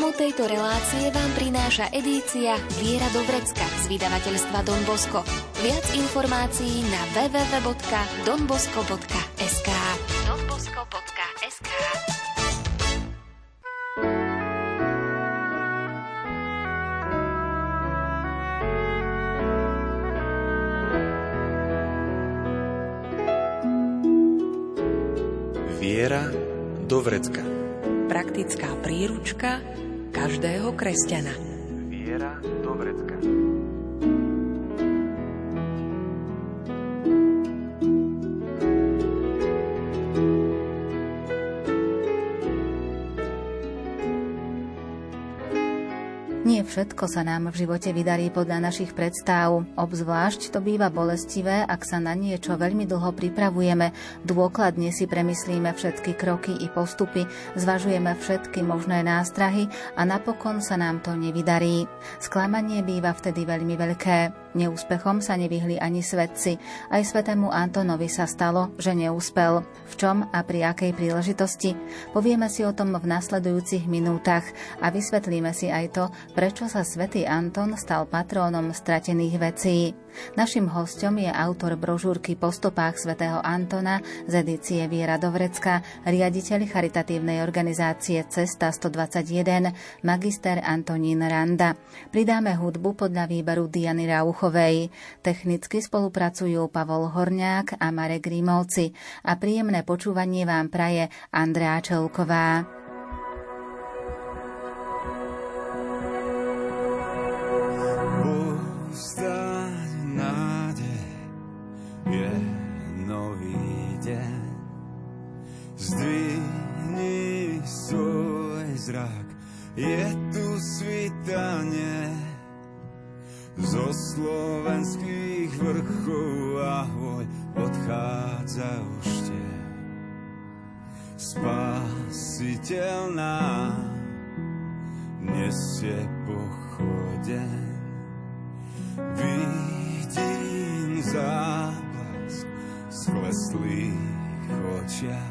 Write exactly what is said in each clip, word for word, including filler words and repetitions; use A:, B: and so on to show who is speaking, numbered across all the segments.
A: Programu tejto relácie vám prináša edícia Viera do vrecka z vydavateľstva Don Bosco. Viac informácií na w w w bodka don bosco bodka es ká. don bosco bodka es ká.
B: Viera do vrecka.
C: Praktická príručka každého kresťana.
B: Viera do vrecka.
D: Nie všetko sa nám v živote vydarí podľa našich predstav. Obzvlášť to býva bolestivé, ak sa na niečo veľmi dlho pripravujeme, dôkladne si premyslíme všetky kroky i postupy, zvažujeme všetky možné nástrahy a napokon sa nám to nevydarí. Sklamanie býva vtedy veľmi veľké. Neúspechom sa nevyhli ani svedci. Aj svätému Antonovi sa stalo, že neúspel. V čom a pri akej príležitosti? Povieme si o tom v nasledujúcich minútach a vysvetlíme si aj to, prečo sa svätý Anton stal patrónom stratených vecí. Naším hosťom je autor brožúrky Po stopách svätého Antona z edície Viera do vrecka, riaditeľ charitatívnej organizácie Cesta stodvadsaťjeden, magister Antonín Randa. Pridáme hudbu podľa výberu Diany Rauchovej. Technicky spolupracujú Pavol Horňák a Marek Rímovci a príjemné počúvanie vám praje Andrea Čelková.
E: Zdvihni svoj zrak, je tu svitanie zo slovenských vrchov, ahoj, odchádza už te. Spasiteľ nám nesie pochodeň, vidím záblask skleslých očiach.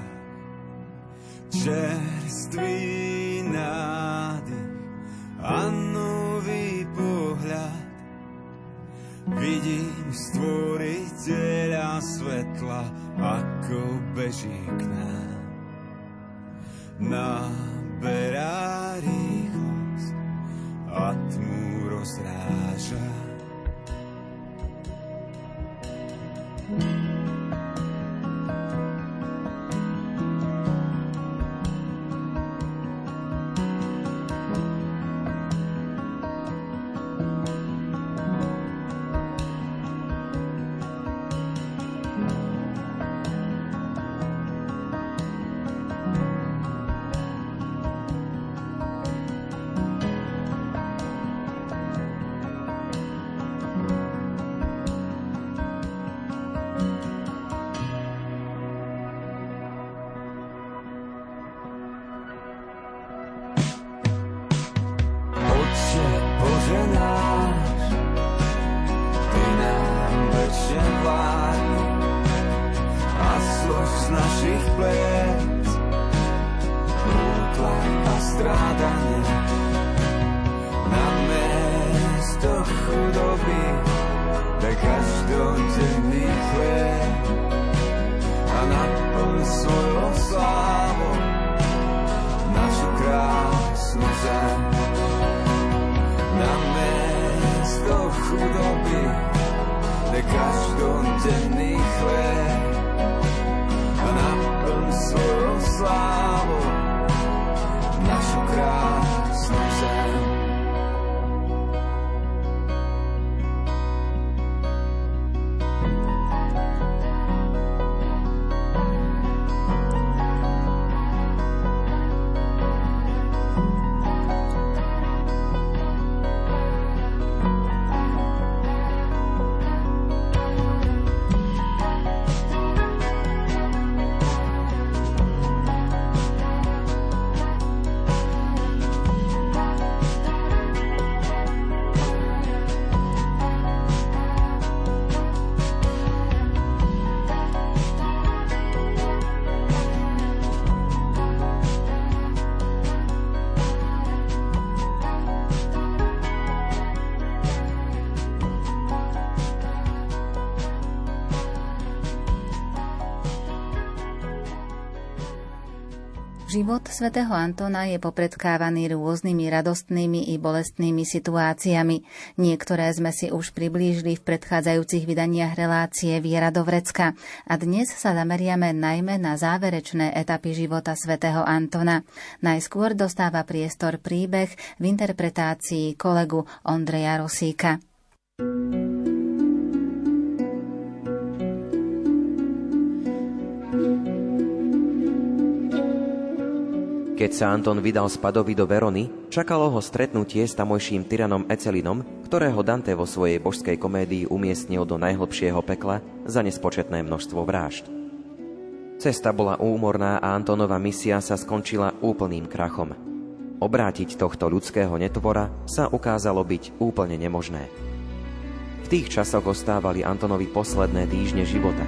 E: Čerstvý nádych a nový pohľad, vidím stvoriteľa svetla, ako beží k nám. Naberá rýchlosť a tmu rozráža.
D: Život svätého Antona je popredkávaný rôznymi radostnými i bolestnými situáciami. Niektoré sme si už priblížili v predchádzajúcich vydaniach relácie Viera do vrecka a dnes sa zameriame najmä na záverečné etapy života svätého Antona. Najskôr dostáva priestor príbeh v interpretácii kolegu Ondreja Rosíka.
F: Keď sa Anton vydal z Padovy do Verony, čakalo ho stretnutie s tamojším tyranom Ecelinom, ktorého Dante vo svojej božskej komédii umiestnil do najhlbšieho pekla za nespočetné množstvo vrážd. Cesta bola úmorná a Antonova misia sa skončila úplným krachom. Obrátiť tohto ľudského netvora sa ukázalo byť úplne nemožné. V tých časoch ostávali Antonovi posledné týždne života.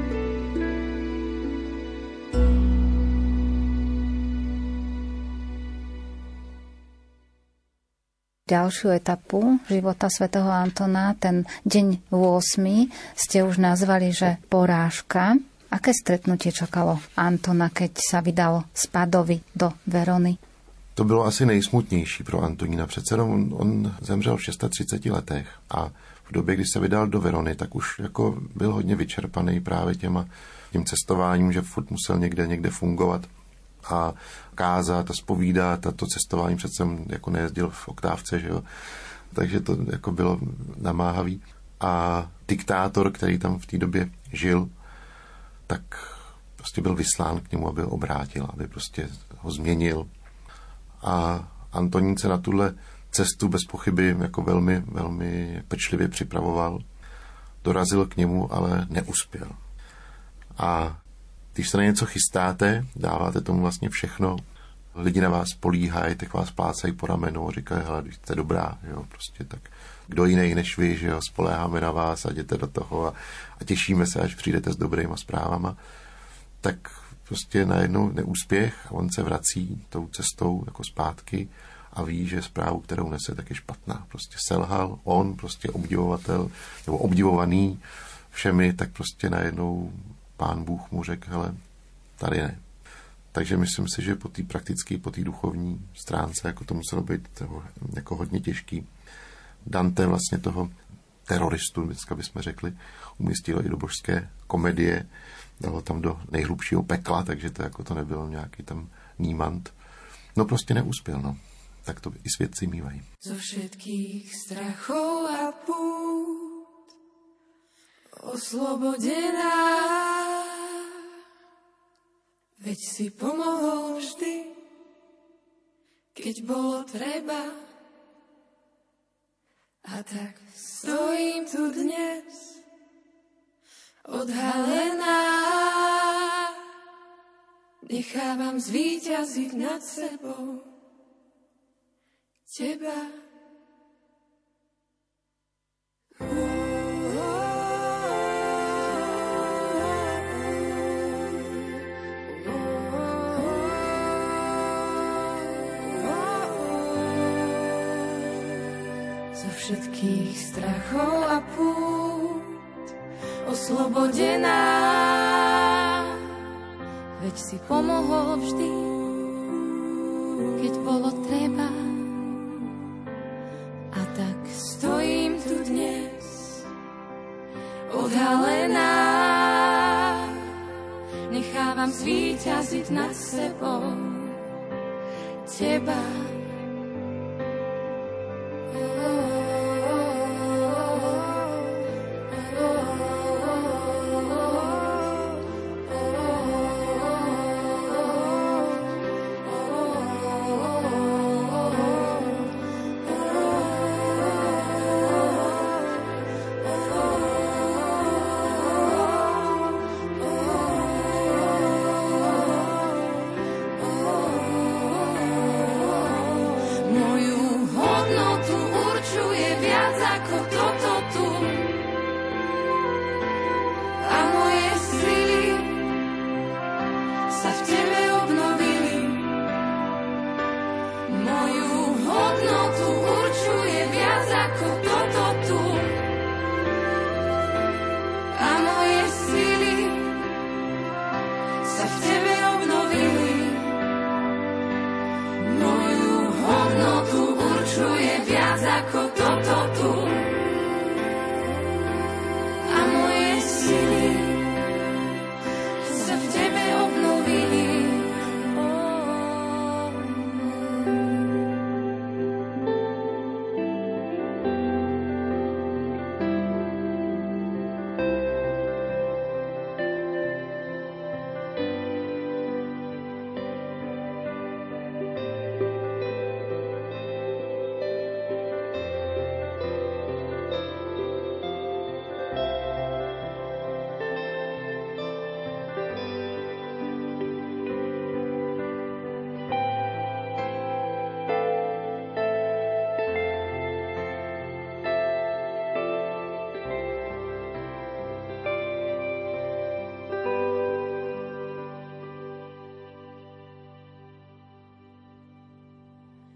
D: Ďalšiu etapu života svätého Antona, ten deň ôsmy, ste už nazvali, že porážka. Aké stretnutie čakalo Antona, keď sa vydal z Padovy do Verony?
G: To bylo asi nejsmutnější pro Antonína. Přece on, on zemřel v třiceti šesti letech a v době, kdy se vydal do Verony, tak už jako byl hodně vyčerpaný právě těma, tím cestováním, že furt musel někde, někde fungovat a kázat a zpovídat a to cestování přece jako nejezdil v oktávce, že jo. Takže to jako bylo namáhavý. A diktátor, který tam v té době žil, tak prostě byl vyslán k němu, aby ho obrátil, aby prostě ho změnil. A Antonín se na tuhle cestu bez pochyby jako velmi, velmi pečlivě připravoval. Dorazil k němu, ale neuspěl. A když se na něco chystáte, dáváte tomu vlastně všechno, lidi na vás políhají, tak vás plácají po ramenu a říkají, hele, když jste dobrá, jo, prostě tak kdo jiný než vy, že jo, spoléháme na vás a jděte do toho a, a těšíme se, až přijdete s dobrýma zprávama, tak prostě najednou neúspěch a on se vrací tou cestou jako zpátky a ví, že zprávu, kterou nese, tak je špatná. Prostě selhal, on prostě obdivovatel, nebo obdivovaný všemi, tak prostě najednou Pán Bůh mu řekl, hele, tady ne. Takže myslím si, že po té praktické, po té duchovní stránce, jako to muselo být toho, jako hodně těžký. Dante vlastně toho teroristu, dneska bychom řekli, umístil i do božské komedie, dalo tam do nejhlubšího pekla, takže to jako to nebylo nějaký tam nímant. No prostě neuspěl, no. Tak to i svědci mývají.
H: Zo všetkých strachov a pút oslobodená, veď si pomohol vždy, keď bolo treba. A tak stojím tu dnes odhalená, nechávam zvíťaziť nad sebou teba. Zo všetkých strachov a pút oslobodená, veď si pomohol vždy, keď bolo treba. A tak stojím tu dnes odhalená, nechávam zvíťaziť nad sebou teba.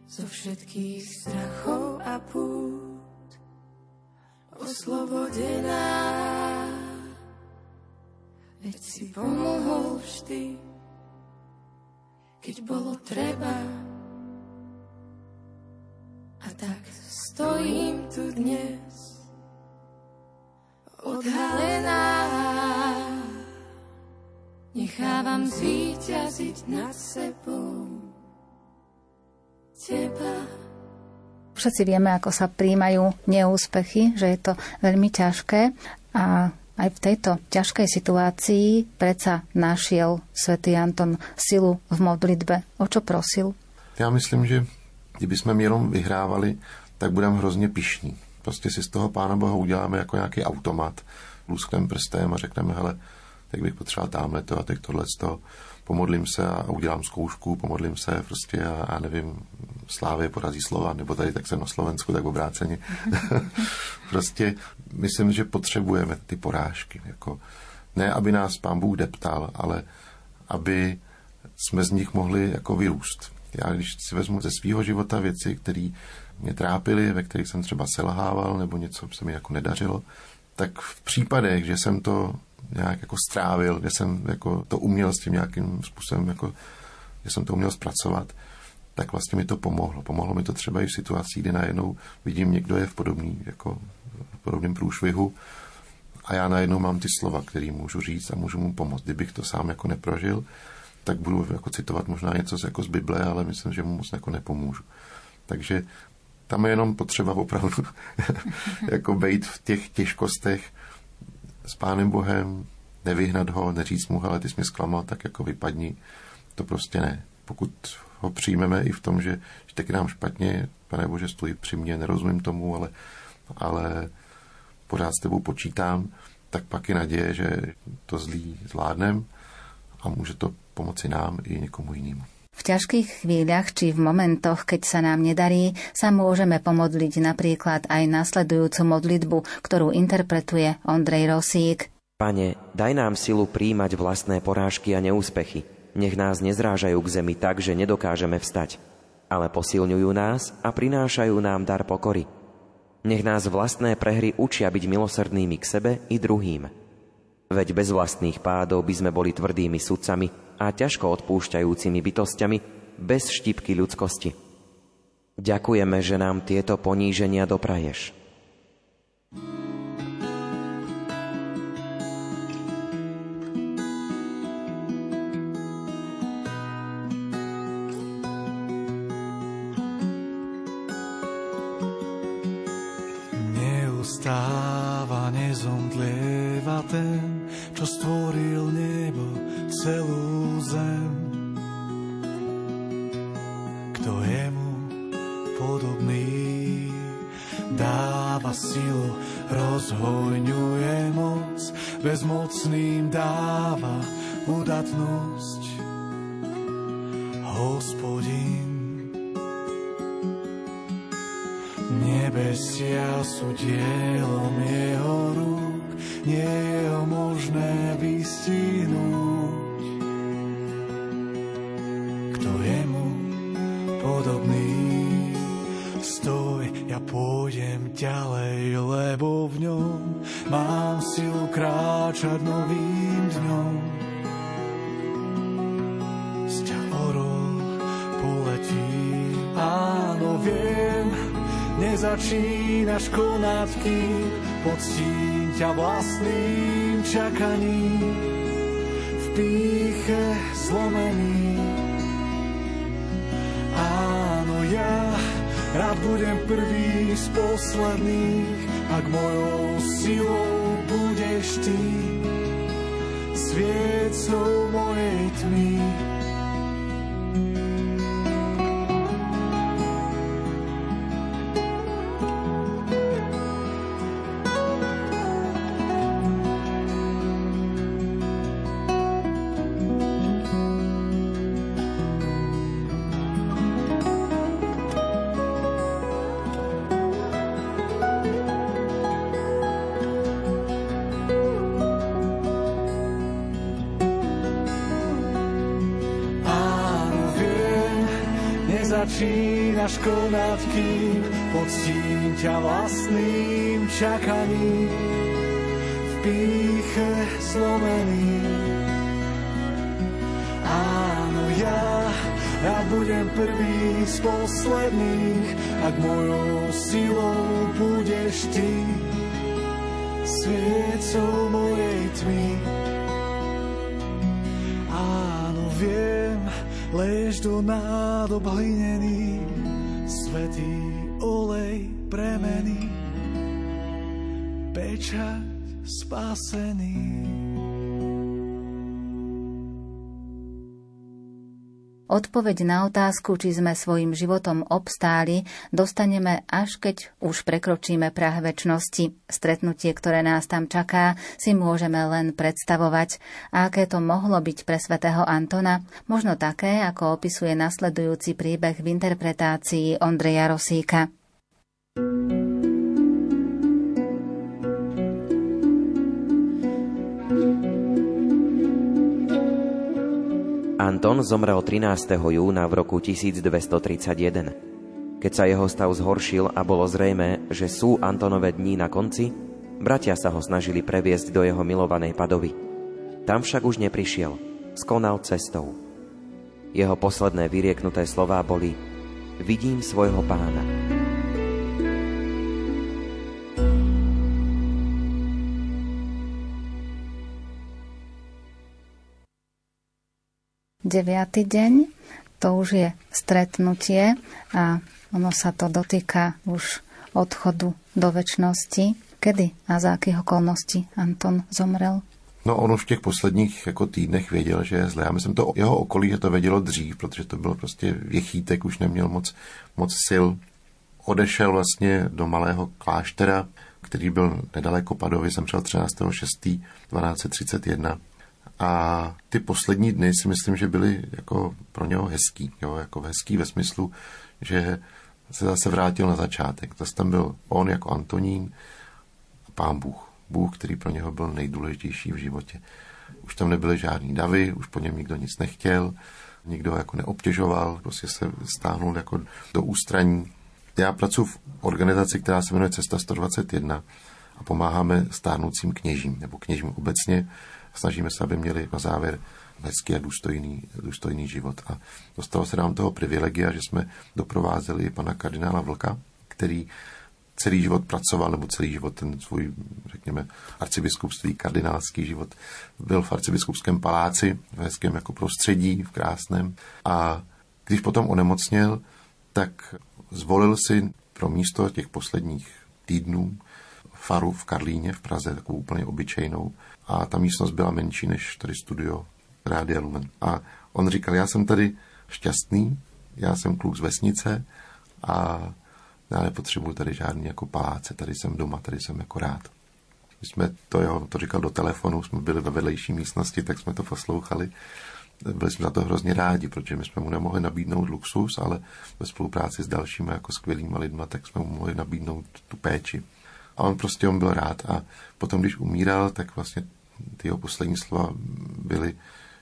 H: zo všetkých strachov a pút, oslobodená. Veď si pomohol vždy, keď bolo treba. A tak stojím tu dnes, odhalená. Nechávam zvíťaziť nad sebou teba.
D: Všetci vieme, ako sa prijímajú neúspechy, že je to veľmi ťažké a aj v tejto ťažkej situácii predsa našiel svätý Anton silu v modlitbe. O čo prosil?
G: Já myslím, že kdyby jsme jenom vyhrávali, tak budeme hrozně pyšní. Prostě si z toho Pána Boha uděláme jako nějaký automat, luskneme prstem a řekneme, hele, tak bych potřeboval tamhle to a teď tohle z toho. Pomodlím se a udělám zkoušku, pomodlím se prostě a, a nevím, Slávě porazí Slova, nebo tady tak jsem na Slovensku, tak obráceně. Prostě myslím, že potřebujeme ty porážky. Jako, ne, aby nás Pán Bůh deptal, ale aby jsme z nich mohli jako vyrůst. Já když si vezmu ze svého života věci, které mě trápily, ve kterých jsem třeba selhával, nebo něco se mi jako nedařilo, tak v případech, že jsem to nějak jako strávil, že jsem jako to uměl s tím nějakým způsobem, jako, že jsem to uměl zpracovat, tak vlastně mi to pomohlo. Pomohlo mi to třeba i v situacích, kdy najednou vidím, někdo je v podobný, jako v podobném průšvihu a já najednou mám ty slova, které můžu říct a můžu mu pomoct. Kdybych to sám jako neprožil, tak budu jako citovat možná něco jako z Bible, ale myslím, že mu moc jako nepomůžu. Takže tam je jenom potřeba opravdu jako bejt v těch těžkostech s Pánem Bohem, nevyhnat ho, neříct mu, hele, ty jsi mě zklamal, tak jako vypadni. To prostě ne. Pokud ho přijmeme i v tom, že, že taky nám špatně, Pane Bože, stojí při mně, nerozumím tomu, ale, ale pořád s tebou počítám, tak pak je naděje, že to zlý zvládnem a může to pomoci nám i někomu jinému.
D: V ťažkých chvíľach či v momentoch, keď sa nám nedarí, sa môžeme pomodliť napríklad aj nasledujúcu modlitbu, ktorú interpretuje Ondrej Rosík.
F: Pane, daj nám silu príjmať vlastné porážky a neúspechy. Nech nás nezrážajú k zemi tak, že nedokážeme vstať, ale posilňujú nás a prinášajú nám dar pokory. Nech nás vlastné prehry učia byť milosrdnými k sebe i druhým. Veď bez vlastných pádov by sme boli tvrdými sudcami a ťažko odpúšťajúcimi bytosťami bez štipky ľudskosti. Ďakujeme, že nám tieto poníženia dopraješ.
E: Neustáva, nezomdlieva ten, čo stvoril nebo, celú zem. Kto je mu podobný, dáva silu, rozhojňuje moc, bezmocným dáva udatnosť. Hospodin, nebesia sú dielom jeho rúk, nie je ho možné vystihnúť. Kto je mu podobný, stoj, ja pôjdem ďalej, lebo v ňom mám silu kráčať novým dňom. Z ťa orol poletí, áno, viem, nezačínaš konať, kým poctím ťa vlastným čakaním, v pýche zlomený. Áno, ja rád budem prvý z posledných, ak mojou silou budeš ty, sviecou mojej tmy. začínaš konať, kým poctím ťa vlastným čakaním. V pýche zlomený. Áno, ja, ja budem prvý z posledných, ak mojou silou budeš ty, sviecou mojej tmy. Áno, viem, leješ do nádob hlinený, svätý olej premeny, pečať spasený.
D: Odpoveď na otázku, či sme svojim životom obstáli, dostaneme až keď už prekročíme prah večnosti. Stretnutie, ktoré nás tam čaká, si môžeme len predstavovať. A aké to mohlo byť pre svätého Antona? Možno také, ako opisuje nasledujúci príbeh v interpretácii Ondreja Rosíka.
F: Anton zomrel trinásteho júna v roku tisícdvestotridsaťjeden. Keď sa jeho stav zhoršil a bolo zrejmé, že sú Antonove dní na konci, bratia sa ho snažili previesť do jeho milovanej Padovy. Tam však už neprišiel, skonal cestou. Jeho posledné vyrieknuté slová boli: Vidím svojho pána.
D: Deviatý deň, to už je stretnutie a ono sa to dotýka už odchodu do večnosti. Kedy a za akých okolností Anton zomrel?
G: No on už v těch posledních jako týdnech věděl, že je zle. Já myslím, to jeho okolí, že to vědělo dřív, protože to bylo prostě věchýtek, už neměl moc, moc sil. Odešel vlastně do malého kláštera, který byl nedaleko Padovy, zemřel třináctého šestého dvanáct set třicet jedna. A ty poslední dny si myslím, že byly jako pro něho hezký. Jo, jako hezký ve smyslu, že se zase vrátil na začátek. Zase tam byl on jako Antonín a Pán Bůh. Bůh, který pro něho byl nejdůležitější v životě. Už tam nebyly žádný davy, už po něm nikdo nic nechtěl, nikdo jako neobtěžoval, prostě se stáhnul jako do ústraní. Já pracuji v organizaci, která se jmenuje Cesta sto dvacet jedna a pomáháme stárnoucím kněžím, nebo kněžím obecně. Snažíme se, aby měli na závěr hezký a důstojný, důstojný život. A dostalo se nám toho privilegia, že jsme doprovázeli pana kardinála Vlka, který celý život pracoval, nebo celý život ten svůj, řekněme, arcibiskupství, kardinálský život, byl v arcibiskupském paláci, v hezkém jako prostředí, v krásném. A když potom onemocněl, tak zvolil si pro místo těch posledních týdnů faru v Karlíně v Praze, takovou úplně obyčejnou. A ta místnost byla menší než tady studio Rádia Lumen. A on říkal, já jsem tady šťastný, já jsem kluk z vesnice a já nepotřebuji tady žádný jako paláce, tady jsem doma, tady jsem jako rád. Když jsme to, jo, to říkal do telefonu, jsme byli ve vedlejší místnosti, tak jsme to poslouchali. Byli jsme za to hrozně rádi, protože my jsme mu nemohli nabídnout luxus, ale ve spolupráci s dalšími jako skvělýma lidma, tak jsme mu mohli nabídnout tu péči. A on prostě on byl rád. A potom, když umíral, tak vlastně ty jeho poslední slova byly,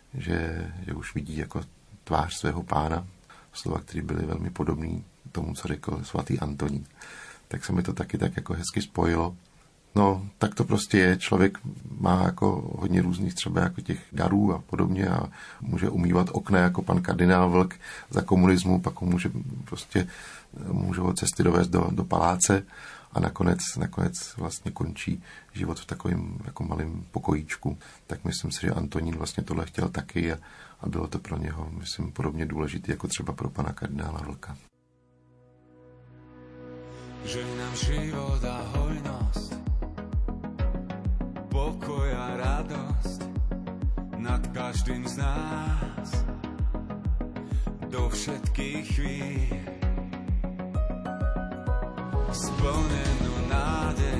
G: že, že už vidí jako tvář svého pána. Slova, které byly velmi podobné tomu, co řekl svatý Antonín. Tak se mi to taky tak jako hezky spojilo. No, tak to prostě je. Člověk má jako hodně různých třeba jako těch darů a podobně a může umývat okna jako pan kardinál Vlk za komunismu, pak ho může prostě může ho cesty dovést do, do paláce a nakonec, nakonec vlastně končí život v takovém jako malém pokojíčku. Tak myslím si, že Antonín vlastně tohle chtěl taky a, a bylo to pro něho, myslím, podobně důležité jako třeba pro pana kardinála Vlka.
I: Že nám život a hojnosť, pokoj a radosť nad každým z nás do všetkých chvíľ, splnenú nádej,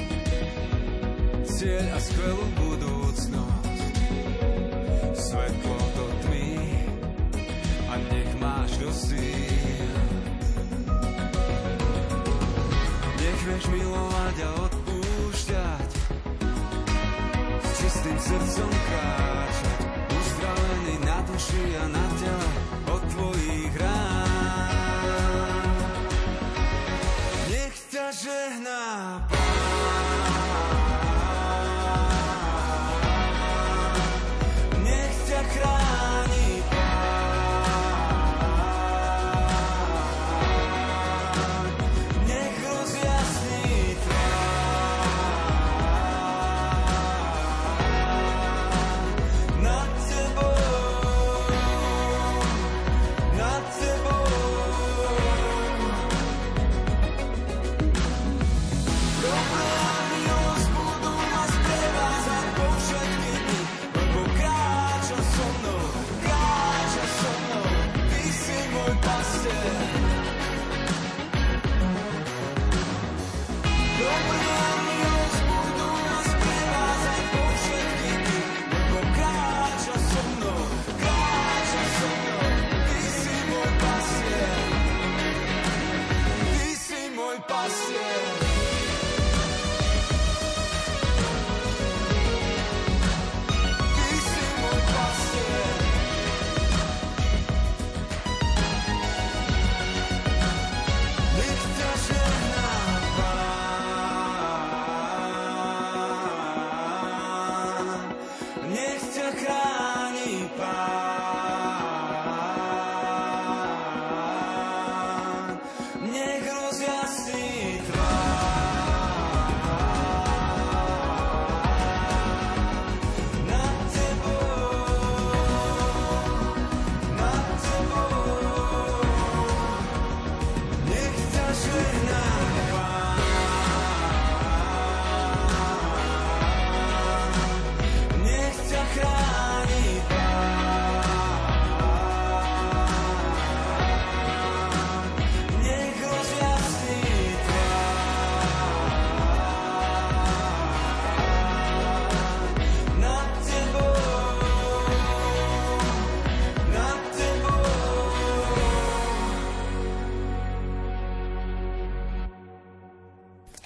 I: cieľ a skvelú budúcnosť, svetlo do tmy a nech máš do síl. Nech vieš milovať a odpúšťať, s čistým srdcom kráčať, uzdravený na duši a na tele od tvojich rán.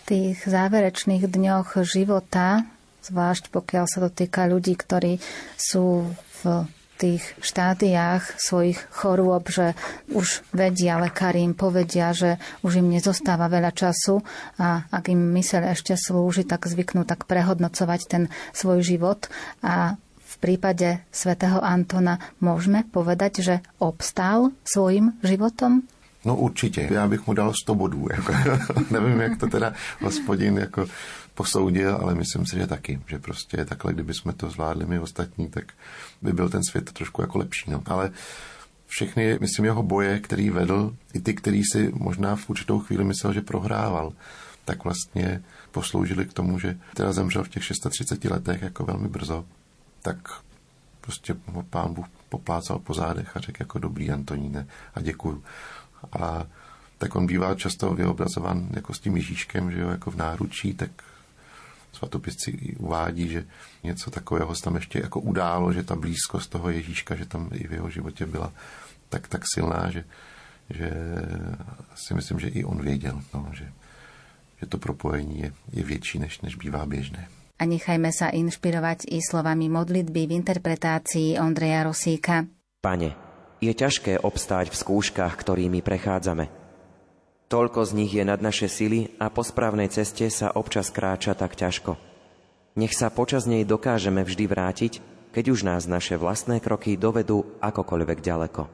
D: tých záverečných dňoch života, zvlášť pokiaľ sa to týka ľudí, ktorí sú v tých štádiách svojich chorôb, že už vedia, lekári im povedia, že už im nezostáva veľa času a ak im myseľ ešte slúži, tak zvyknú tak prehodnocovať ten svoj život. A v prípade svätého Antona môžeme povedať, že obstál svojim životom?
G: No určitě, já bych mu dal sto bodů. Jako, nevím, jak to teda Hospodin jako posoudil, ale myslím si, že taky, že prostě takhle, kdyby jsme to zvládli my ostatní, tak by byl ten svět trošku jako lepší. No. Ale všechny, myslím, jeho boje, který vedl, i ty, který si možná v určitou chvíli myslel, že prohrával, tak vlastně posloužili k tomu, že teda zemřel v těch třiceti šesti letech jako velmi brzo, tak prostě ho Pán Bůh poplácal po zádech a řekl jako dobrý Antoníne a děkuju. A tak on bývá často vyobrazován jako s tím Ježíškem, že jo, jako v náručí, tak svatopisci uvádí, že něco takového se tam ještě jako událo, že ta blízkost toho Ježíška, že tam i v jeho životě byla tak, tak silná, že, že si myslím, že i on věděl, no, že, že to propojení je, je větší, než, než bývá běžné.
D: A nechajme sa inšpirovať i slovami modlitby v interpretácii Ondreja Rosíka.
F: Pane, je ťažké obstáť v skúškach, ktorými prechádzame. Toľko z nich je nad naše sily a po správnej ceste sa občas kráča tak ťažko. Nech sa počas nej dokážeme vždy vrátiť, keď už nás naše vlastné kroky dovedú akokoľvek ďaleko.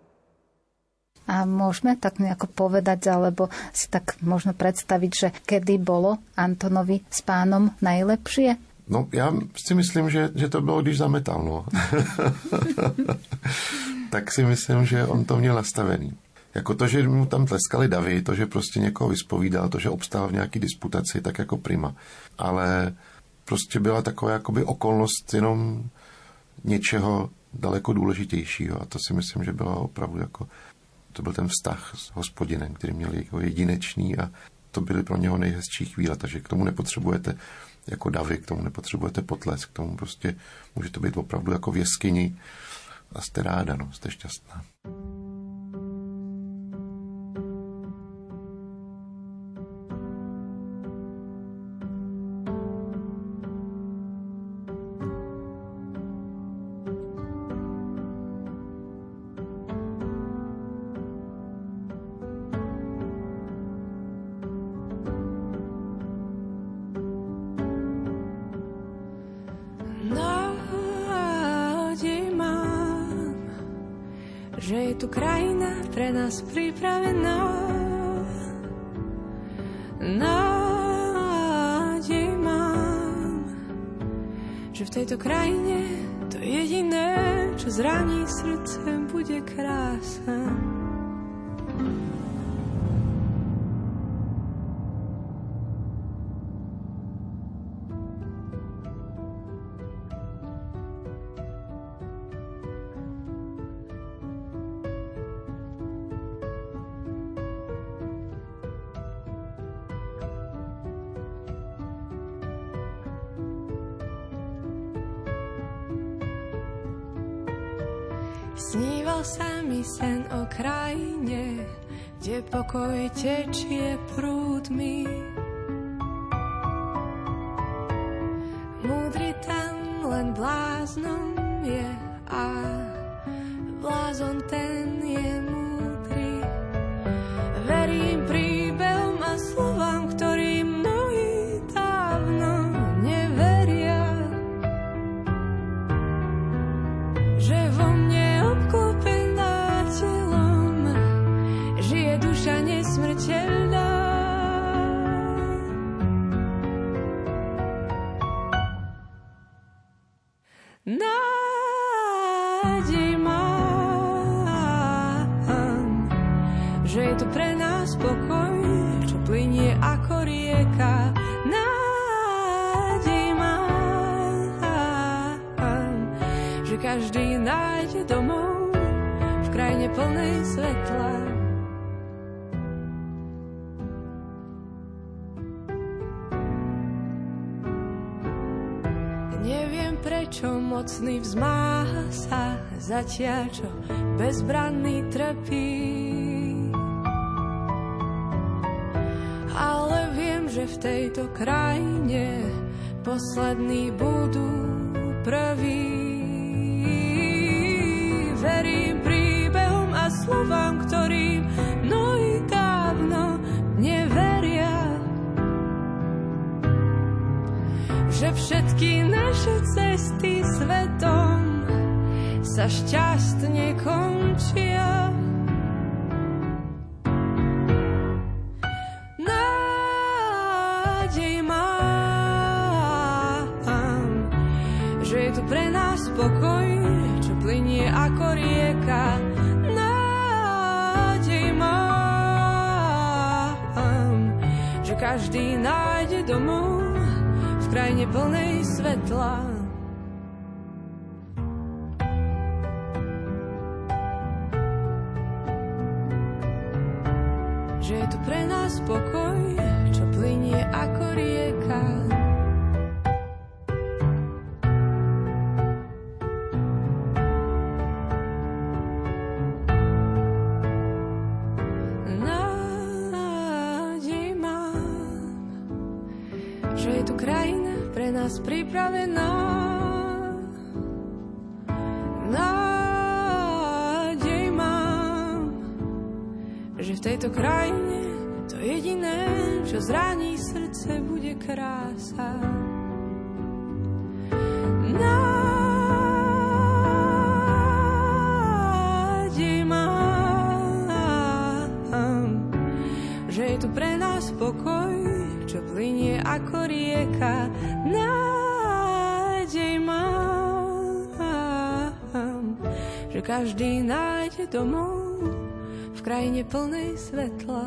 D: A môžeme tak nejako povedať, alebo si tak možno predstaviť, že kedy bolo Antonovi s Pánom najlepšie?
G: No, já si myslím, že, že to bylo, když zametal, no. Tak si myslím, že on to měl nastavený. Jako to, že mu tam tleskali davy, to, že prostě někoho vyspovídal, to, že obstál v nějaký disputaci, tak jako prima. Ale prostě byla taková jakoby okolnost jenom něčeho daleko důležitějšího. A to si myslím, že byla opravdu jako, to byl ten vztah s Hospodinem, který měl jako jedinečný a to byly pro něho nejhezčí chvíle. Takže k tomu nepotřebujete jako davy, k tomu nepotřebujete potlesk, k tomu prostě může to být opravdu jako v jeskyni a jste ráda, no, jste šťastná.
H: Že je tu krajina pre nás pripravená. Nádej mám, že v tejto krajine to jediné, čo zraní srdce, bude krása. Sníval sa mi sen o krajine, kde pokoj tečie prúdmi. Múdry tam len bláznom je a blázon ten je múdry. Verím príbehom a slovám, ktorým mnohí dávno neveria, že vo mne obklopená telom žije duša nesmrteľná. Nádej mám, že je tu pre nás pokoj, čo plynie ako rieka. Nádej mám, že každý nájde domov v krajine plnej svetla. Neviem, prečo mocný vzmáha sa zatiaľ, čo bezbranný trpí. Ale viem, že že v tejto krajine poslední budú prví. Verím príbehom a slovám, ktorým mnohí dávno neveria, že všetky naše cesty svetom sa šťastne končia. Nádej mám, že je tu pre nás pokoj, čo plynie ako rieka. Nádej mám, že každý nájde domov v krajine plnej svetla. Že je tu pre nás pokoj, čo plynie ako rieka. Nádej mám, že je tu krajina pre nás pripravená. Nádej mám, že v tejto krajine to jediné, čo zraní srdce, bude krása. Nádej mám, že je tu pre nás pokoj, čo plynie ako rieka. Nádej mám, že každý nájde domov v krajine plnej svetla.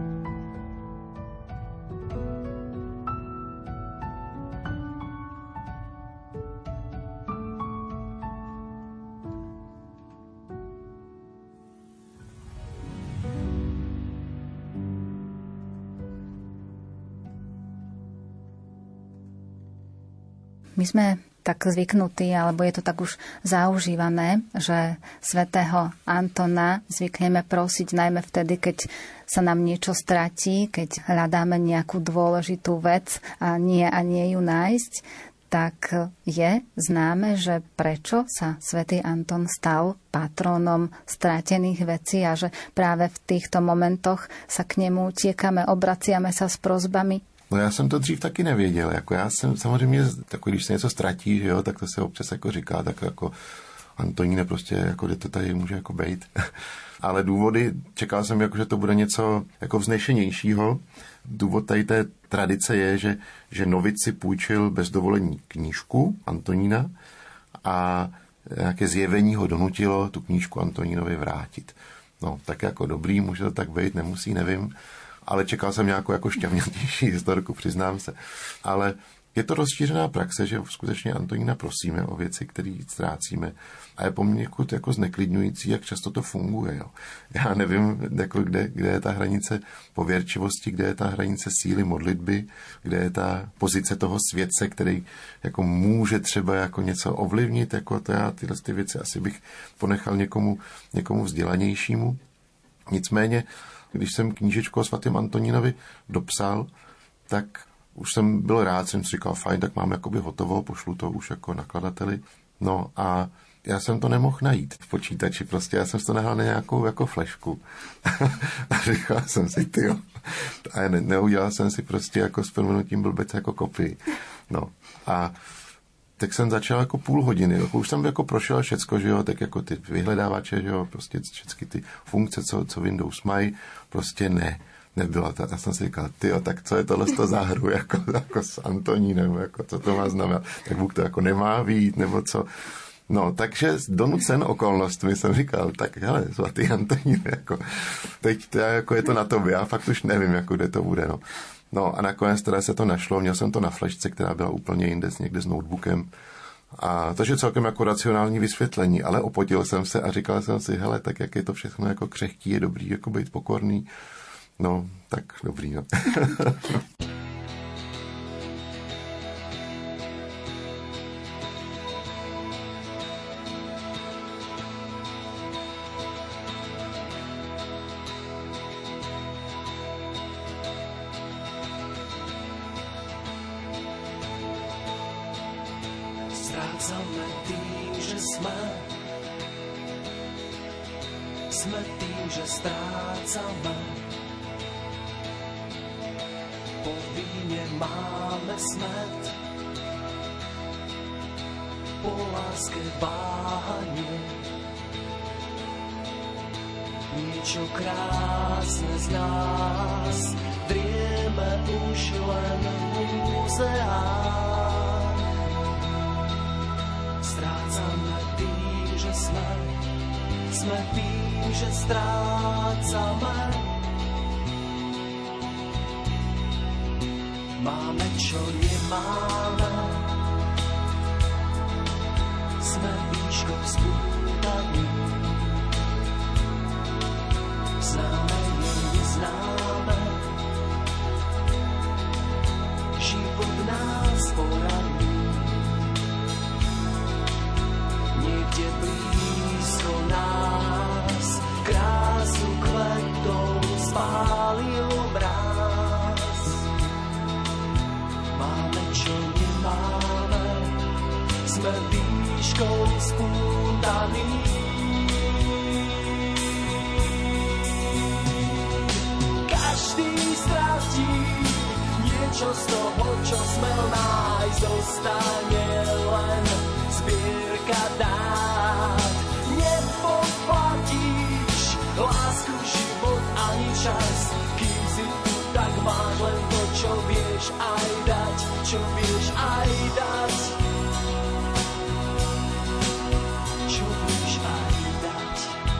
D: My sme tak zvyknutí, alebo je to tak už zaužívané, že svätého Antona zvykneme prosiť najmä vtedy, keď sa nám niečo stratí, keď hľadáme nejakú dôležitú vec a nie a nie ju nájsť. Tak je známe, že prečo sa svätý Anton stal patrónom stratených vecí a že práve v týchto momentoch sa k nemu utiekame, obraciame sa s prosbami.
G: No já jsem to dřív taky nevěděl, jako já jsem samozřejmě, takový, když se něco ztratí, že jo, tak to se občas jako říká, tak jako Antoníne prostě, jako kde to tady může jako bejt. Ale důvody, čekal jsem, jako, že to bude něco jako vznešenějšího. Důvod tady té tradice je, že, že novic si půjčil bez dovolení knížku Antonína a nějaké zjevení ho donutilo tu knížku Antonínovi vrátit. No, tak jako dobrý, může to tak být, nemusí, nevím. Ale čekal jsem nějakou jako šťavnatější historku, přiznám se. Ale je to rozšířená praxe, že skutečně Antonína prosíme o věci, které ztrácíme. A je poměrně jako zneklidňující, jak často to funguje. Jo. Já nevím, jako kde, kde je ta hranice pověrčivosti, kde je ta hranice síly modlitby, kde je ta pozice toho světce, který jako může třeba jako něco ovlivnit. Jako to já tyhle ty věci asi bych ponechal někomu, někomu vzdělanějšímu. Nicméně, když jsem knížečku o svatém Antonínovi dopsal, tak už jsem byl rád, jsem si říkal, fajn, tak mám jakoby hotovo, pošlu to už jako nakladateli. No a já jsem to nemohl najít v počítači, prostě já jsem to nahal na nějakou jako flešku. A říkal jsem si, tyjo. A ne, neudělal jsem si prostě jako s prominutím blbec jako kopii. No a tak jsem začal jako půl hodiny, jako už jsem jako prošel všecko, že jo, tak jako ty vyhledávače, že jo, prostě všechny ty funkce, co, co Windows mají, prostě ne, nebyla ta. Já jsem si říkal, tyjo, tak co je tohle z toho za hru, jako, jako s Antonínem, jako co to má znamenat, tak Bůh to jako nemá vyjít, nebo co. No, takže donucen okolnostmi jsem říkal, tak hele, svatý Antonín, jako, teď to, jako je to na tobě, já fakt už nevím, jako kde to bude, no. No a nakonec teda se to našlo, měl jsem to na flešce, která byla úplně jinde, někde s notebookem. A takže celkem jako racionální vysvětlení, ale opotil jsem se a říkal jsem si, hele, tak jak je to všechno jako křehký, je dobrý jako být pokorný. No, tak dobrý, no.
E: Strácame tým, že sme, sme tým, že strácame. Po víne máme smet, po láske váhanie. Niečo krásne z nás drieme už len v múzeách. Strácame tým, že sme, sme tým, že strácame. Máme, čo nemáme, sme výškou spútaní. Známe je neznáme, život nás poradí. Niekde blízko nás krásu kvetov spálil mráz. Máme, čo nemáme, sme výškou spútaní. Každý stratí niečo z toho, čo smel nájsť, zostane len zbierka dát. Nepoplatíš lásku, život ani čas, kým si tu, tak máš len to, čo vieš aj dať, čo vieš aj dať. Čo vieš aj dať.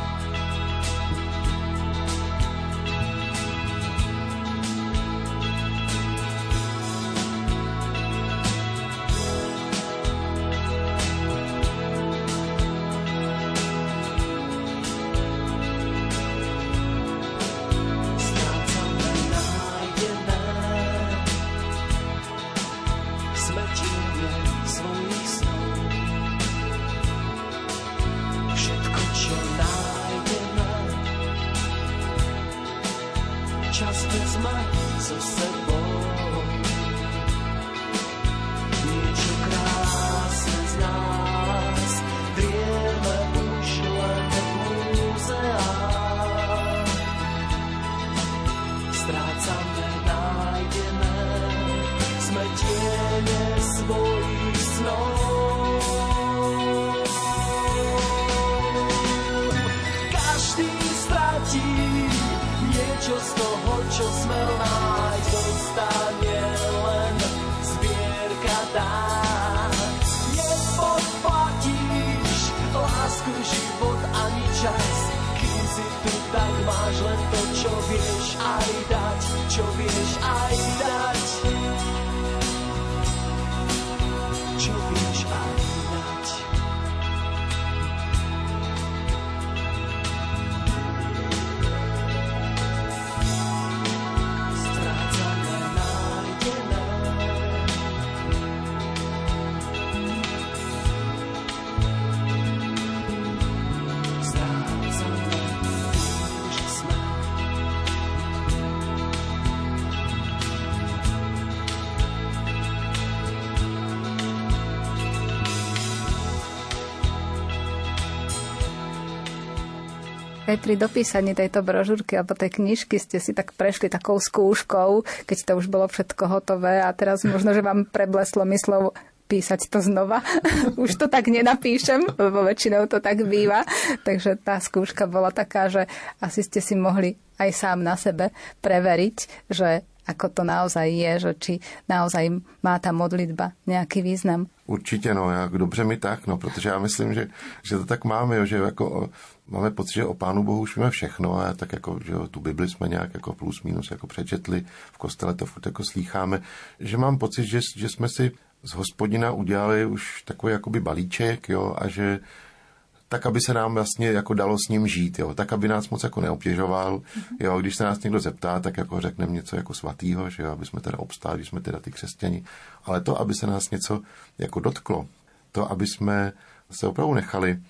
J: Aj pri dopísaní tejto brožúrky alebo tej knižky ste si tak prešli takou skúškou, keď to už bolo všetko hotové a teraz možno, že vám prebleslo myslou písať to znova. Už to tak nenapíšem, lebo väčšinou to tak býva. Takže tá skúška bola taká, že asi ste si mohli aj sám na sebe preveriť, že ako to naozaj je, že či naozaj má ta modlitba nějaký význam.
G: Určitě, no, jak dobře mi tak, no, protože já myslím, že, že to tak máme, jo, že jako máme pocit, že o Pánu Bohu už víme všechno a tak jako, že jo, tu Bibli jsme nějak jako plus minus jako přečetli, v kostele to furt jako slýcháme, že mám pocit, že, že jsme si z Hospodina udělali už takový jakoby balíček, jo, a že tak, aby se nám vlastně jako dalo s ním žít, jo, tak, aby nás moc jako neobtěžoval, jo, když se nás někdo zeptá, tak jako řekneme něco jako svatýho, že jo, aby jsme teda obstáli, když jsme teda ty křesťani, ale to, aby se nás něco jako dotklo, to, aby jsme se opravdu nechali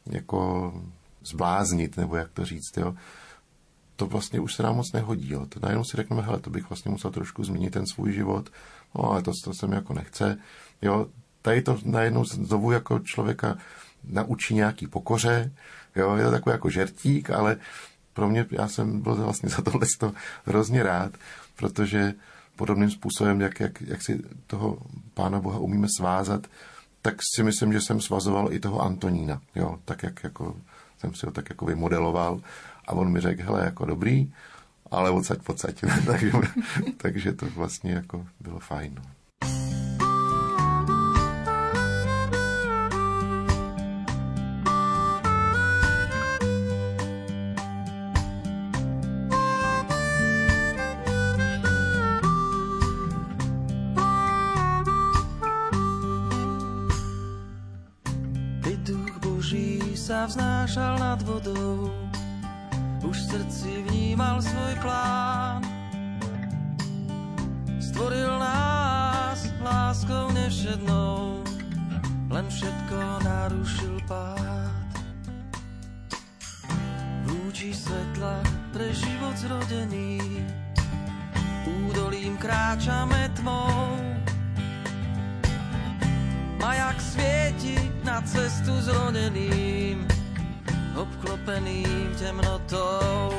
G: jako zbláznit, nebo jak to říct, jo, to vlastně už se nám moc nehodí, jo, to najednou si řekneme, hele, to bych vlastně musel trošku změnit ten svůj život, no, ale to, to se mi jako nechce, jo, tady to najednou znovu jako člověka naučí nějaký pokoře, jo, je to takový jako žertík, ale pro mě, já jsem byl vlastně za tohle hrozně rád, protože podobným způsobem, jak, jak, jak si toho Pána Boha umíme svázat, tak si myslím, že jsem svazoval i toho Antonína, jo, tak jak jako jsem si ho tak jako vymodeloval a on mi řekl, hele, jako dobrý, ale odsaď, odsaď. takže, takže to vlastně jako bylo fajn.
I: Sa vznášal nad vodou, už v srdci vnímal svoj plán. Stvoril nás láskou nevšednou, len všetko narušil pád. V lúči svetla pre život zrodený, údolím kráčame tmou. Majak svieti na cestu zroneným, obklopeným temnotou.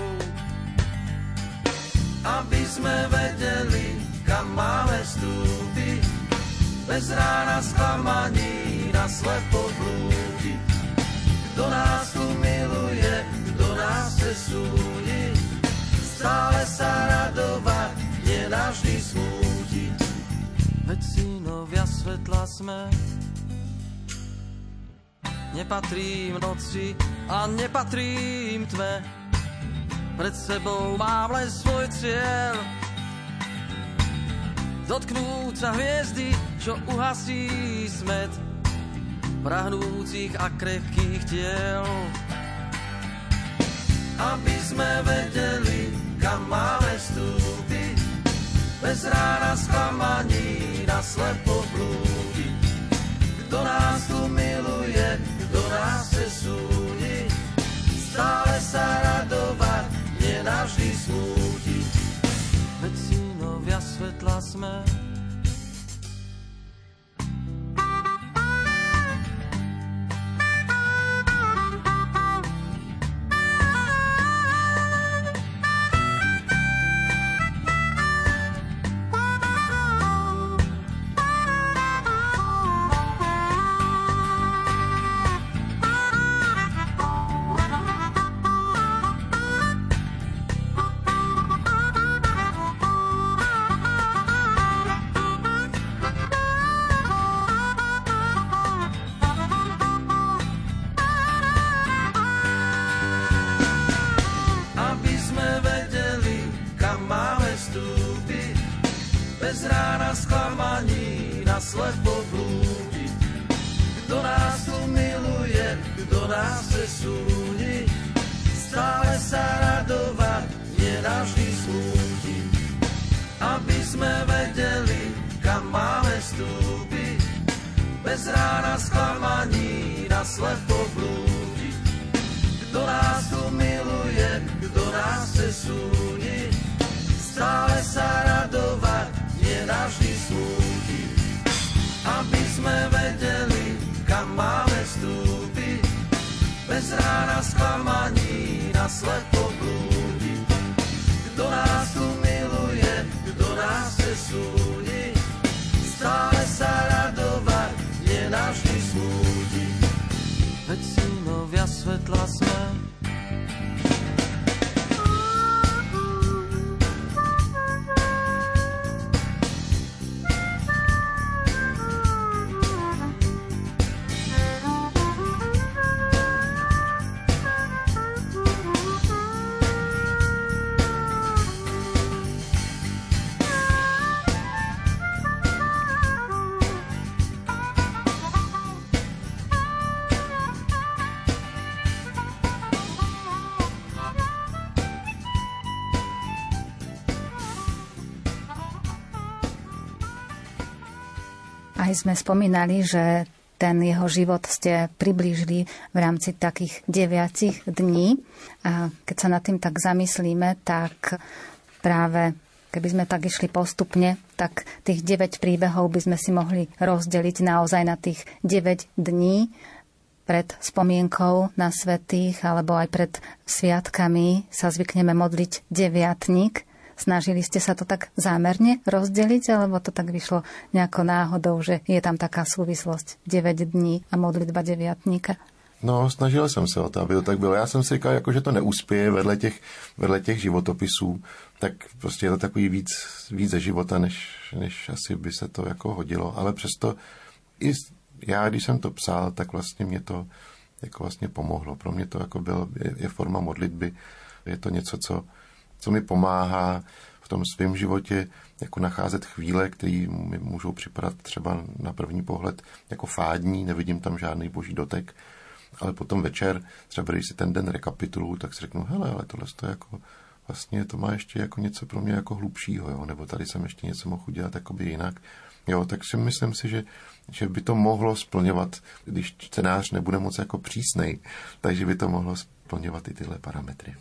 I: Aby sme vedeli, kam máme vstúpiť, bez rána sklamaní na slepo blúdiť. Kto nás tu miluje, kto nás chce súdiť, stále sa radovať, nenavždy smútiť. Veď synovia svetla sme, nepatrím noci a nepatrím tme, pred sebou mám len svoj cieľ, dotknúť sa hviezdy, čo uhasí smet prahnúcich a krehkých tiel. Aby sme vedeli, kam máme vstúpiť, bez rána sklamaní na slepo blúdiť. Kto nás tu miluje, kto nás chce súdiť, stále sa radovať, nenavždy smútiť. Veď synovia svetla sme. Bez rána sklamaní na slepo blúdiť. Kto nás tu miluje, kto nás chce súdiť, stále sa radovať, nenavždy smútiť. Aby sme vedeli, kam máme vstúpiť, bez rána sklamaní na slepo blúdiť. Kto nás tu miluje, kto nás chce súdiť, stále sa radovať, nenavždy smútiť. Aby sme vedeli, kam máme vstúpiť, bez rána sklamaní na slepo blúdiť. Kto nás tu miluje, kto nás chce súdiť, stále sa radovať, nenavždy smútiť. Veď synovia svetla sme.
D: Aj sme spomínali, že ten jeho život ste priblížili v rámci takých deviatich dní. A keď sa nad tým tak zamyslíme, tak práve Keby sme tak išli postupne, tak tých deväť príbehov by sme si mohli rozdeliť naozaj na tých deväť dní pred spomienkou na svätých alebo aj pred sviatkami sa zvykneme modliť deviatnik. Snažili ste sa to tak zámerne rozdeliť, alebo to tak vyšlo nejako náhodou, že je tam taká súvislosť deväť dní a modlitba deviatníka?
G: No, snažil jsem se o to, aby to tak bylo. Já jsem si říkal, jako, že to neuspěje vedle těch, vedle těch životopisů, tak prostě je to takový víc, víc ze života, než, než asi by se to jako hodilo. Ale přesto i já, když jsem to psal, tak vlastně mě to jako vlastně pomohlo. Pro mě to jako byl, je, je forma modlitby, je to něco, co, co mi pomáhá v tom svém životě jako nacházet chvíle, které mi můžou připadat třeba na první pohled jako fádní, nevidím tam žádný boží dotek, ale potom večer, třeba když si ten den rekapituluju, tak si řeknu, hele, ale tohle to jako, vlastně to má ještě jako něco pro mě jako hlubšího, jo? Nebo tady jsem ještě něco mohl udělat jakoby jinak. Jo, tak si myslím si, že, že by to mohlo splňovat, když čtenář nebude moc jako přísnej, takže by to mohlo splňovat i tyhle parametry.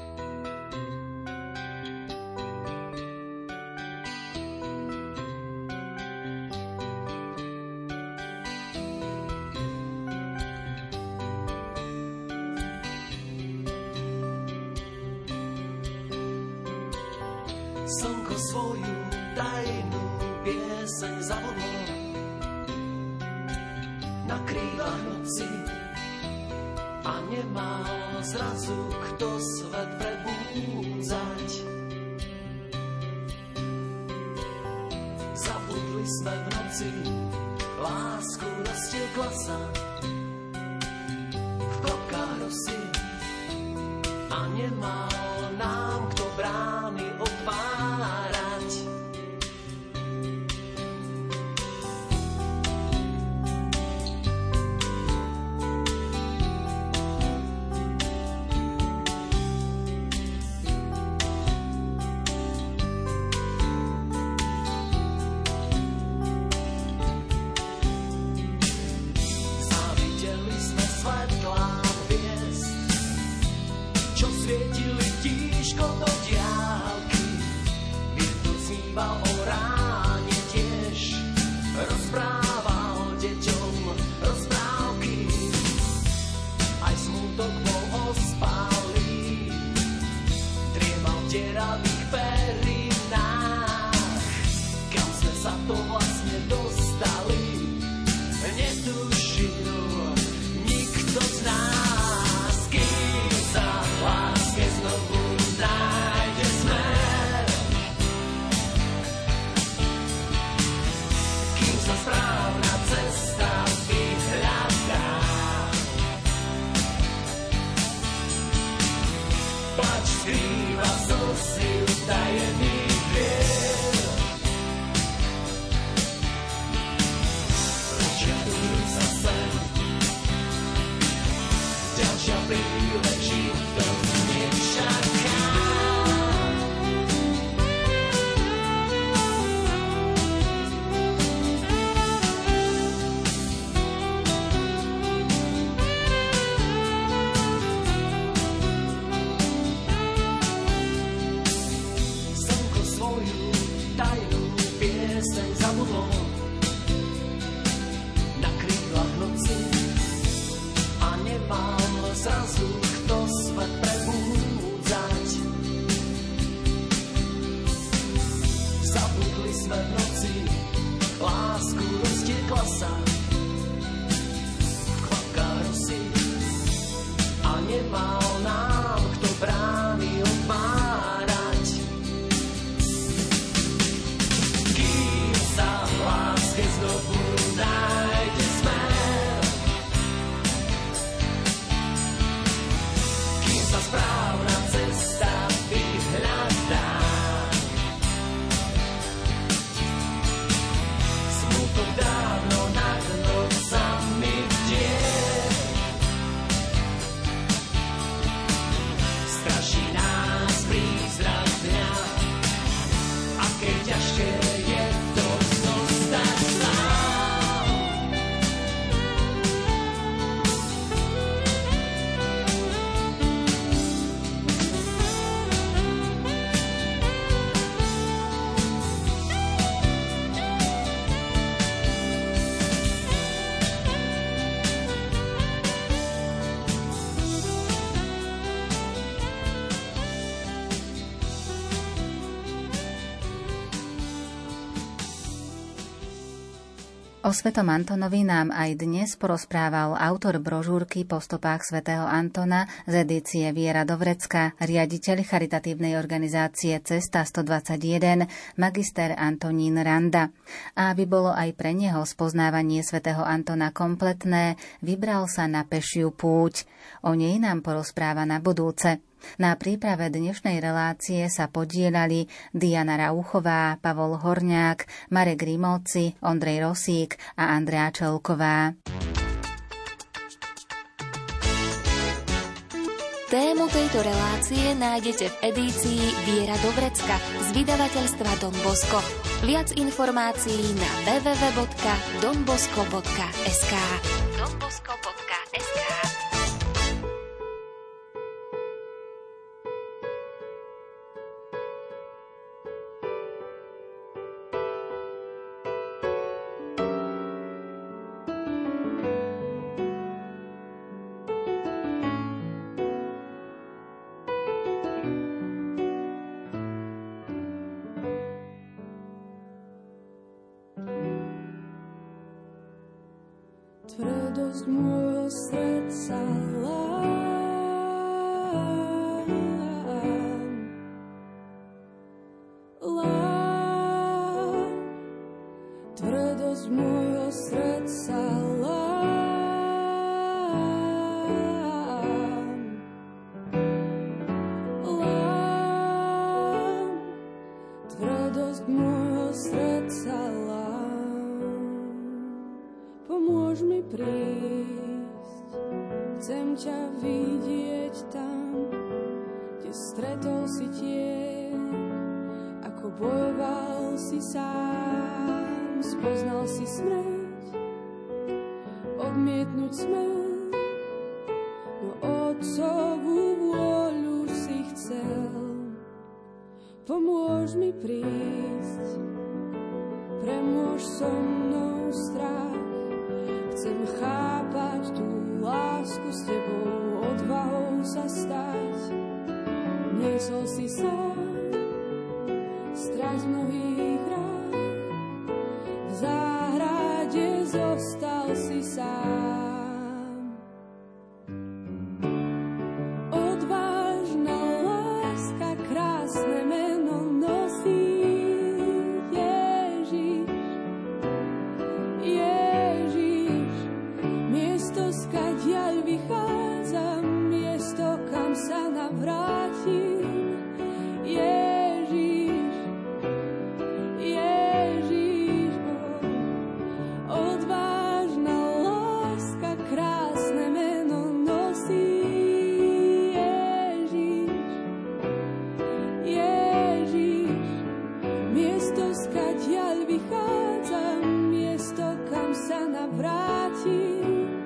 E: Slnko svoju tajnú pieseň zavodlo na krílach noci a nemal zrazu kto svet prebúdzať. Zabudli sme v noci, lásku roztiekla sa v klopkách rosy a nemal nám kto brány otvárať. Zavideli sme svetlá hviezd, čo svietili tížko do diaľky. Vietor zníval o ráne tiež, rozprával deťom rozprávky. Aj smutok bol ospalý, driemal v deravých perinách. Kam sme sa to vlastne dostali, netušil nikto z nás. Kým sa v láske znovu nájde smer, kým sa správna cesta vyhľadá, plač skrýva slzy utajených vier. Rozčiaruj sa sem, ďalšia príležitosť nečaká. Slnko
D: O svätom Antonovi nám aj dnes porozprával autor brožúrky Po stopách svätého Antona z edície Viera do Vrecka, riaditeľ charitatívnej organizácie Cesta stodvadsaťjeden, magister Antonín Randa. A aby bolo aj pre neho spoznávanie svätého Antona kompletné, vybral sa na pešiu púť. O nej nám porozpráva na budúce. Na príprave dnešnej relácie sa podieľali Diana Rauchová, Pavol Horňák, Marek Grimovci, Ondrej Rosík a Andrea Čelková.
A: Tému tejto relácie nájdete v edícii Viera do Vrecka z vydavateľstva Don Bosco. Viac informácií na w w w bodka don bosco bodka es ká. don bosco bodka es ká.
H: Tvrdosť môjho srdca lám, lám. Tvrdosť môjho srdca lám, lám. Tvrdosť môjho srdca lám. Pomôž mi prísť, chcem ťa vidieť tam, kde stretol si tieň, ako bojoval si sám, spoznal si smrť, odmietnúť smrť, no Otcovú vôľu si chcel. Pomôž mi prísť, premôž so mnou strach, chcem chápať tú lásku s tebou, odvahou sa stať. Niesol si sám strach z mnohých rán, v záhrade zostal si sám. Odvážna láska, krásne meno nosí Ježiš, Ježiš. Miesto, skadiaľ vychádzam, miesto, kam sa navrátim. Ježiš, Ježiš, oh. Odvážna láska, krásne meno nosí Ježiš, Ježiš. Miesto, skadiaľ vychádzam, miesto, kam sa navrátim.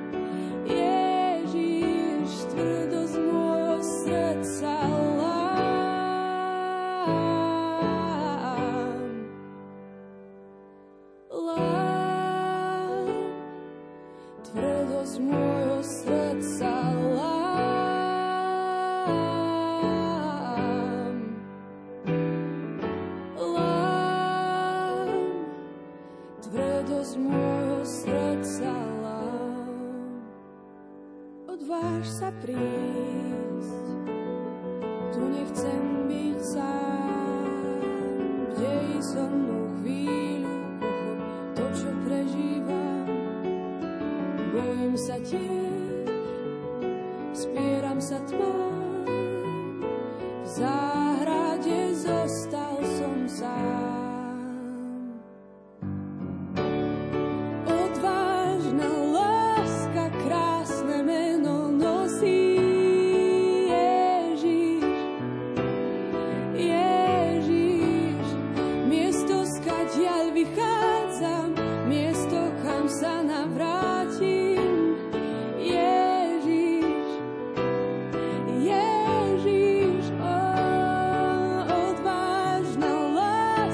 H: Odváž sa prísť, tu nechcem byť sám, dej so mnou chvíľu, pochop to, čo prežívam. Bojím sa tiež, spieram sa tmám, v záhrade zostal som sám. Odvážna láska, krásne meno nosí Ježiš, Ježiš. Miesto, skadiaľ vychádzam, miesto, kam sa navrátim. Ježiš, Ježiš, oh, odvážna láska.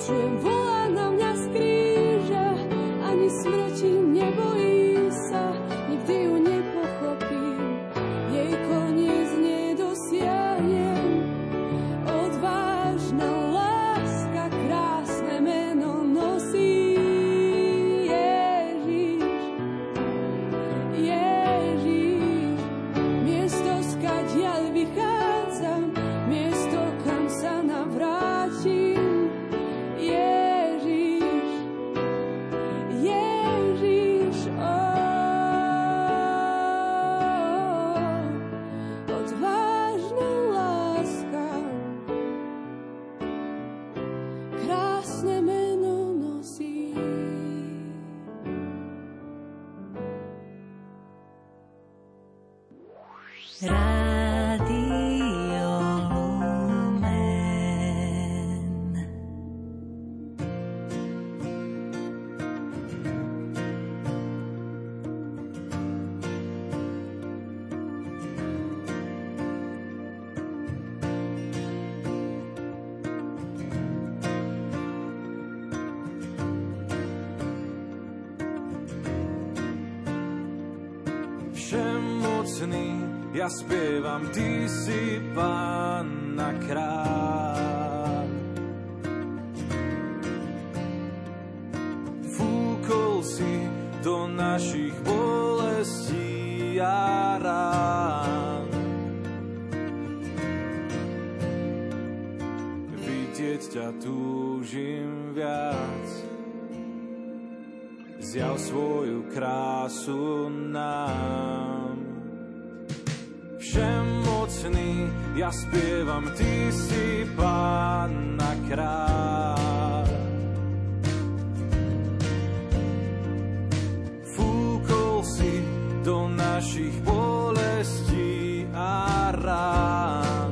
H: Počujem, volá na mňa z kríža, ani smrti nebojí sa, nikdy ju nepochopím, jej koniec nedosiahnem. Odvážna láska krásne meno nosí. Ježiš, Ježiš, miesto skadiaľ vychádzam, miesto kam sa navrátim. Ježiš, Ježiš, oh, odvážna láska, krásne meno nosí.
K: Rádio Lumen.
I: Všemocný, ja spievam, ty si Pán a kráľ. Fúkol si do našich bolestí a rán. Vidieť ťa túžim viac, zjav svoju krásu nám. Všemocný, ja spievam, ty si Pán a kráľ. Fúkol si do našich bolestí a rán.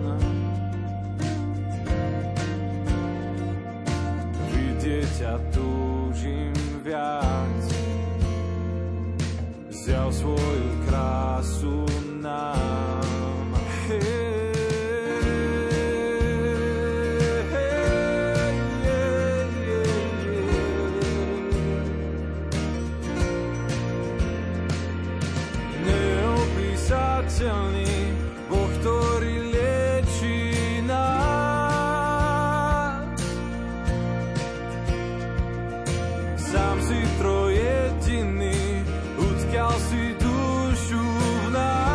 I: Vidieť ťa túžim viac, zjav svoju krásu nám. Hey, hey, yeah, yeah, yeah. Neopísateľný Boh, ktorý liečí nás. Sám si trojediný, utkal si dušu v nás.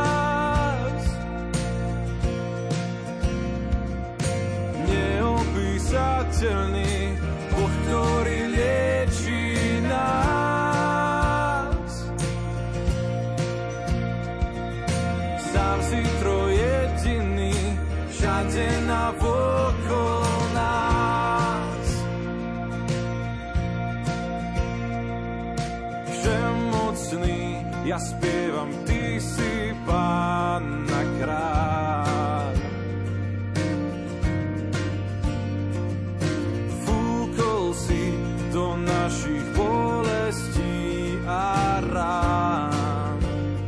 I: Neopísateľný Boh, ktorý liečí nás. Sám si trojediný, všade navokol nás. Všemocný, ja spievam, ty si Pán a kráľ. Fúkol si do našich bolestí a rán.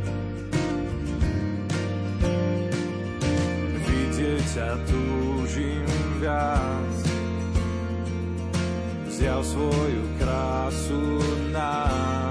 I: Vidieť ťa túžim viac, zjav svoju krásu nám.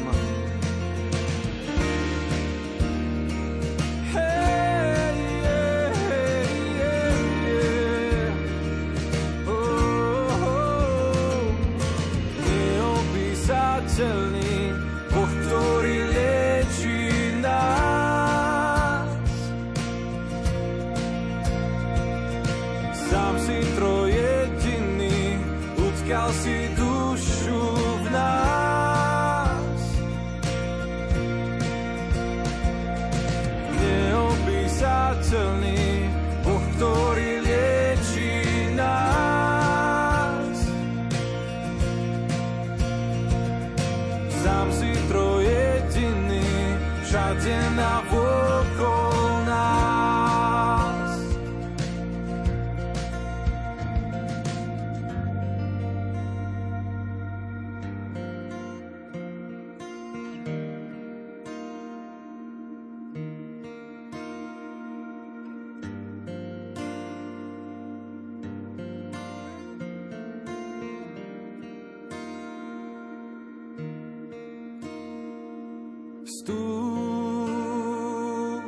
I: Boh, ktorý liečí nás. Sám si trojediný, utkal si dušu v nás. Neopísateľný Boh, ktorý liečí nás. Sám si trojediný, všade navokol nás.
E: Vstúp,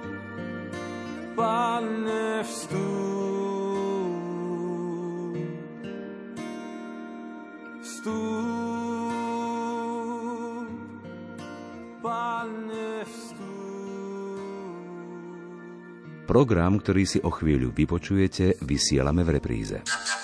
E: Pane, vstúp. Vstúp, Pane, vstúp.
L: Program, ktorý si o chvíľu vypočujete, vysielame v repríze.